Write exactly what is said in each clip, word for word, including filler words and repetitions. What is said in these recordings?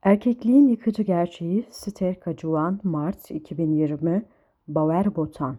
Erkekliğin Yıkıcı Gerçeği Sterka Juan Mart iki bin yirmi Bauer Botan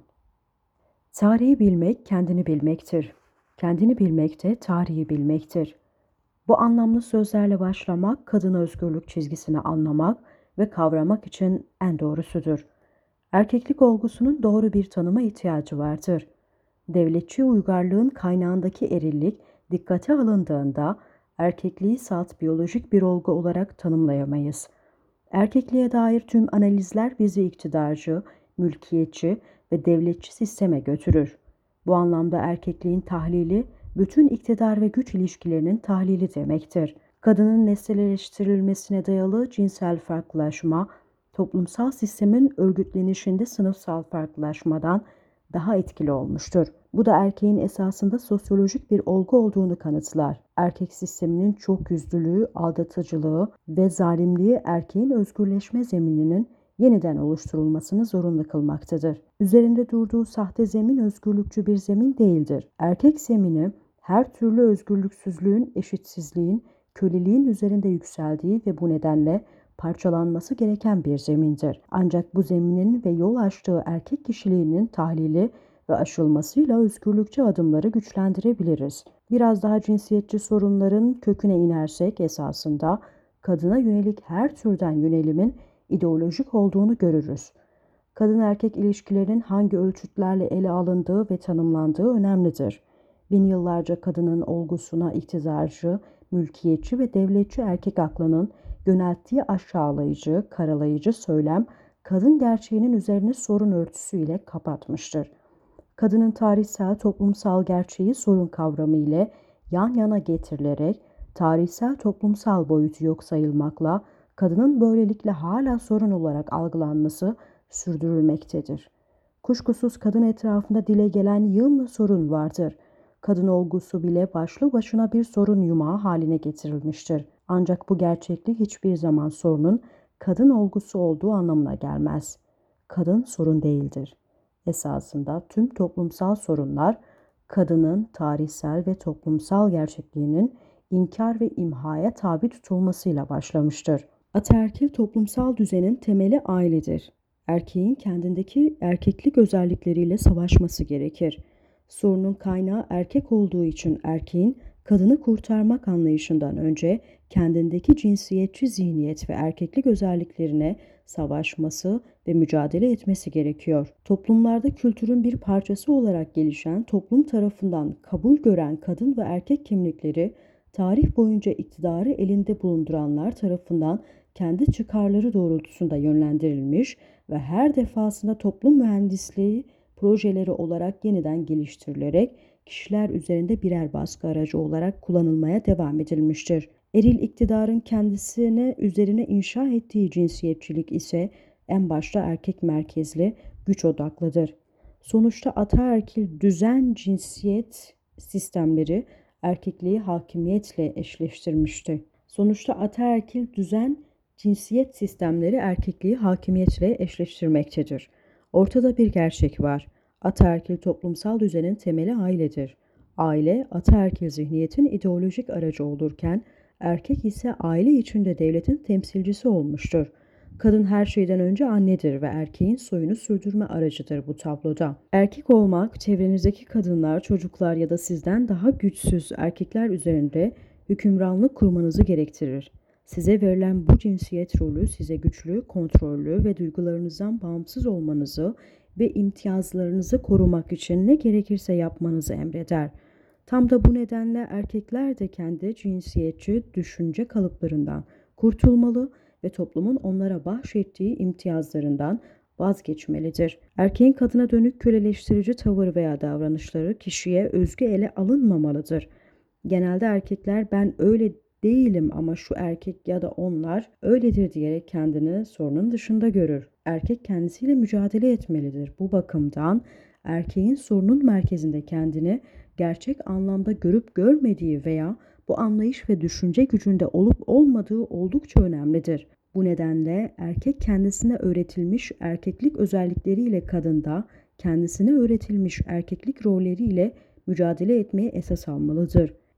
Tarihi bilmek kendini bilmektir. Kendini bilmek de tarihi bilmektir. Bu anlamlı sözlerle başlamak, kadın özgürlük çizgisini anlamak ve kavramak için en doğrusudur. Erkeklik olgusunun doğru bir tanıma ihtiyacı vardır. Devletçi uygarlığın kaynağındaki erillik dikkate alındığında erkekliği salt biyolojik bir olgu olarak tanımlayamayız. Erkekliğe dair tüm analizler bizi iktidarcı, mülkiyetçi ve devletçi sisteme götürür. Bu anlamda erkekliğin tahlili, bütün iktidar ve güç ilişkilerinin tahlili demektir. Kadının nesneleştirilmesine dayalı cinsel farklılaşma, toplumsal sistemin örgütlenişinde sınıfsal farklılaşmadan daha etkili olmuştur. Bu da erkeğin esasında sosyolojik bir olgu olduğunu kanıtlar. Erkek sisteminin çokyüzlülüğü, aldatıcılığı ve zalimliği erkeğin özgürleşme zemininin yeniden oluşturulmasını zorunlu kılmaktadır. Üzerinde durduğu sahte zemin özgürlükçü bir zemin değildir. Erkek zemini her türlü özgürlüksüzlüğün, eşitsizliğin, köleliğin üzerinde yükseldiği ve bu nedenle parçalanması gereken bir zemindir. Ancak bu zeminin ve yol açtığı erkek kişiliğinin tahlili ve aşılmasıyla özgürlükçü adımları güçlendirebiliriz. Biraz daha cinsiyetçi sorunların köküne inersek esasında kadına yönelik her türden yönelimin ideolojik olduğunu görürüz. Kadın erkek ilişkilerinin hangi ölçütlerle ele alındığı ve tanımlandığı önemlidir. Bin yıllarca kadının olgusuna iktidarcı, mülkiyetçi ve devletçi erkek aklının yönelttiği aşağılayıcı, karalayıcı söylem kadın gerçeğinin üzerine sorun örtüsüyle kapatmıştır. Kadının tarihsel toplumsal gerçeği sorun kavramı ile yan yana getirilerek tarihsel toplumsal boyutu yok sayılmakla kadının böylelikle hala sorun olarak algılanması sürdürülmektedir. Kuşkusuz kadın etrafında dile gelen yığınla sorun vardır. Kadın olgusu bile başlı başına bir sorun yumağı haline getirilmiştir. Ancak bu gerçeklik hiçbir zaman sorunun kadın olgusu olduğu anlamına gelmez. Kadın sorun değildir. Esasında tüm toplumsal sorunlar kadının tarihsel ve toplumsal gerçekliğinin inkar ve imhaya tabi tutulmasıyla başlamıştır. Ataerkil toplumsal düzenin temeli ailedir. Erkeğin kendindeki erkeklik özellikleriyle savaşması gerekir. Sorunun kaynağı erkek olduğu için erkeğin kadını kurtarmak anlayışından önce kendindeki cinsiyetçi zihniyet ve erkeklik özelliklerine savaşması ve mücadele etmesi gerekiyor. Toplumlarda kültürün bir parçası olarak gelişen, toplum tarafından kabul gören kadın ve erkek kimlikleri, tarih boyunca iktidarı elinde bulunduranlar tarafından kendi çıkarları doğrultusunda yönlendirilmiş ve her defasında toplum mühendisliği projeleri olarak yeniden geliştirilerek kişiler üzerinde birer baskı aracı olarak kullanılmaya devam edilmiştir. Eril iktidarın kendisine üzerine inşa ettiği cinsiyetçilik ise en başta erkek merkezli, güç odaklıdır. Sonuçta ataerkil düzen cinsiyet sistemleri erkekliği hakimiyetle eşleştirmişti. Sonuçta ataerkil düzen cinsiyet sistemleri erkekliği hakimiyetle eşleştirmektedir. Ortada bir gerçek var. Ataerkil toplumsal düzenin temeli ailedir. Aile, ataerkil zihniyetin ideolojik aracı olurken, erkek ise aile içinde devletin temsilcisi olmuştur. Kadın her şeyden önce annedir ve erkeğin soyunu sürdürme aracıdır bu tabloda. Erkek olmak, çevrenizdeki kadınlar, çocuklar ya da sizden daha güçsüz erkekler üzerinde hükümranlık kurmanızı gerektirir. Size verilen bu cinsiyet rolü size güçlü, kontrollü ve duygularınızdan bağımsız olmanızı ve imtiyazlarınızı korumak için ne gerekirse yapmanızı emreder. Tam da bu nedenle erkekler de kendi cinsiyetçi düşünce kalıplarından kurtulmalı ve toplumun onlara bahşettiği imtiyazlarından vazgeçmelidir. Erkeğin kadına dönük köleleştirici tavır veya davranışları kişiye özgü ele alınmamalıdır. Genelde erkekler ben öyle değilim ama şu erkek ya da onlar öyledir diyerek kendini sorunun dışında görür. Erkek kendisiyle mücadele etmelidir. Bu bakımdan erkeğin sorunun merkezinde kendini gerçek anlamda görüp görmediği veya bu anlayış ve düşünce gücünde olup olmadığı oldukça önemlidir. Bu nedenle erkek kendisine öğretilmiş erkeklik özellikleriyle kadında kendisine öğretilmiş erkeklik rolleriyle mücadele etmeye esas almalıdır.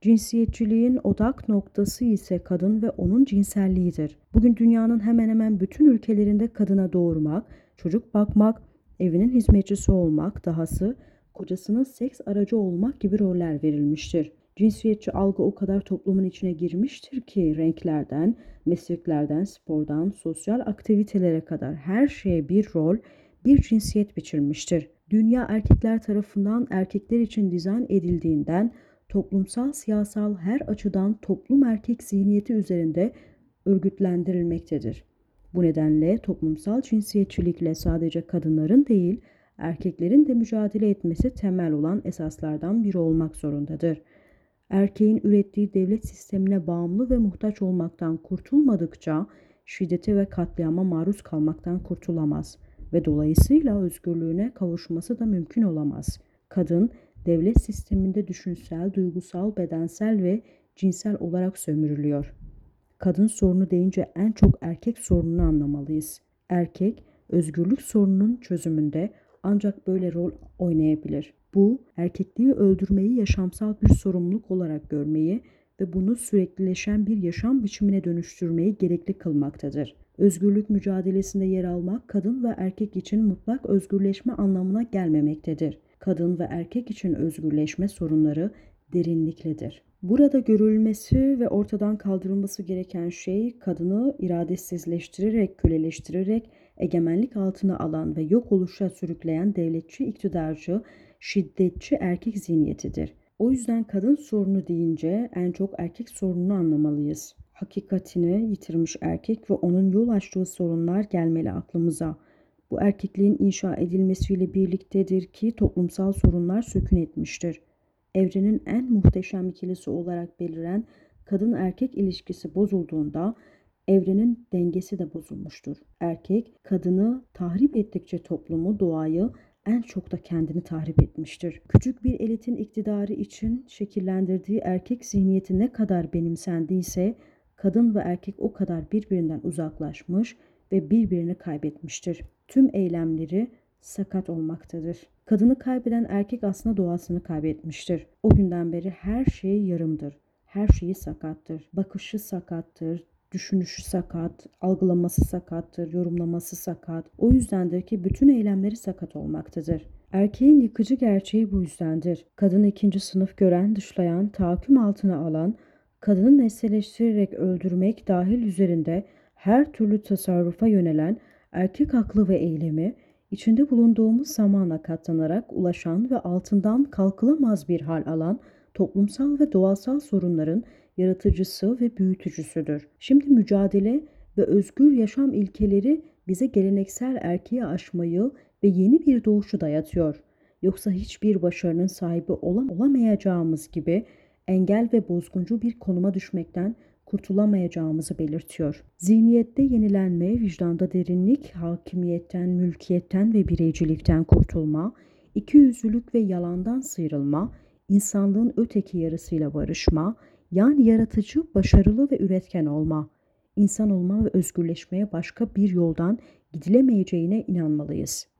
Cinsiyetçiliğin odak noktası ise kadın ve onun cinselliğidir. Bugün dünyanın hemen hemen bütün ülkelerinde kadına doğurmak, çocuk bakmak, evinin hizmetçisi olmak, dahası kocasının seks aracı olmak gibi roller verilmiştir. Cinsiyetçi algı o kadar toplumun içine girmiştir ki renklerden, mesleklerden, spordan, sosyal aktivitelere kadar her şeye bir rol, bir cinsiyet biçilmiştir. Dünya erkekler tarafından erkekler için dizayn edildiğinden toplumsal, siyasal her açıdan toplum erkek zihniyeti üzerinde örgütlendirilmektedir. Bu nedenle toplumsal cinsiyetçilikle sadece kadınların değil, erkeklerin de mücadele etmesi temel olan esaslardan biri olmak zorundadır. Erkeğin ürettiği devlet sistemine bağımlı ve muhtaç olmaktan kurtulmadıkça şiddete ve katliama maruz kalmaktan kurtulamaz ve dolayısıyla özgürlüğüne kavuşması da mümkün olamaz. Kadın, devlet sisteminde düşünsel, duygusal, bedensel ve cinsel olarak sömürülüyor. Kadın sorunu deyince en çok erkek sorununu anlamalıyız. Erkek, özgürlük sorununun çözümünde ancak böyle rol oynayabilir. Bu, erkekliği öldürmeyi yaşamsal bir sorumluluk olarak görmeyi ve bunu süreklileşen bir yaşam biçimine dönüştürmeyi gerekli kılmaktadır. Özgürlük mücadelesinde yer almak, kadın ve erkek için mutlak özgürleşme anlamına gelmemektedir. Kadın ve erkek için özgürleşme sorunları derinliklidir. Burada görülmesi ve ortadan kaldırılması gereken şey, kadını iradesizleştirerek, köleleştirerek, egemenlik altına alan ve yok oluşa sürükleyen devletçi, iktidarcı, şiddetçi erkek zihniyetidir. O yüzden kadın sorunu deyince en çok erkek sorununu anlamalıyız. Hakikatini yitirmiş erkek ve onun yol açtığı sorunlar gelmeli aklımıza. Bu erkekliğin inşa edilmesiyle birliktedir ki toplumsal sorunlar sökün etmiştir. Evrenin en muhteşem ikilisi olarak beliren kadın erkek ilişkisi bozulduğunda evrenin dengesi de bozulmuştur. Erkek, kadını tahrip ettikçe toplumu, doğayı, en çok da kendini tahrip etmiştir. Küçük bir elitin iktidarı için şekillendirdiği erkek zihniyeti ne kadar benimsendiyse, kadın ve erkek o kadar birbirinden uzaklaşmış ve birbirini kaybetmiştir. Tüm eylemleri sakat olmaktadır. Kadını kaybeden erkek aslında doğasını kaybetmiştir. O günden beri her şey yarımdır. Her şeyi sakattır. Bakışı sakattır, düşünüşü sakat, algılaması sakattır, yorumlaması sakat. O yüzdendir ki bütün eylemleri sakat olmaktadır. Erkeğin yıkıcı gerçeği bu yüzdendir. Kadını ikinci sınıf gören, dışlayan, tahakküm altına alan, kadını nesneleştirerek öldürmek dahil üzerinde her türlü tasarrufa yönelen erkek aklı ve eylemi, içinde bulunduğumuz zamana katlanarak ulaşan ve altından kalkılamaz bir hal alan toplumsal ve doğasal sorunların yaratıcısı ve büyütücüsüdür. Şimdi mücadele ve özgür yaşam ilkeleri bize geleneksel erkeği aşmayı ve yeni bir doğuşu dayatıyor. Yoksa hiçbir başarının sahibi olam olamayacağımız gibi engel ve bozguncu bir konuma düşmekten kurtulamayacağımızı belirtiyor. Zihniyette yenilenme, vicdanda derinlik, hakimiyetten, mülkiyetten ve bireycilikten kurtulma, ikiyüzlülük ve yalandan sıyrılma, insanlığın öteki yarısıyla barışma, yani yaratıcı, başarılı ve üretken olma, insan olma ve özgürleşmeye başka bir yoldan gidilemeyeceğine inanmalıyız.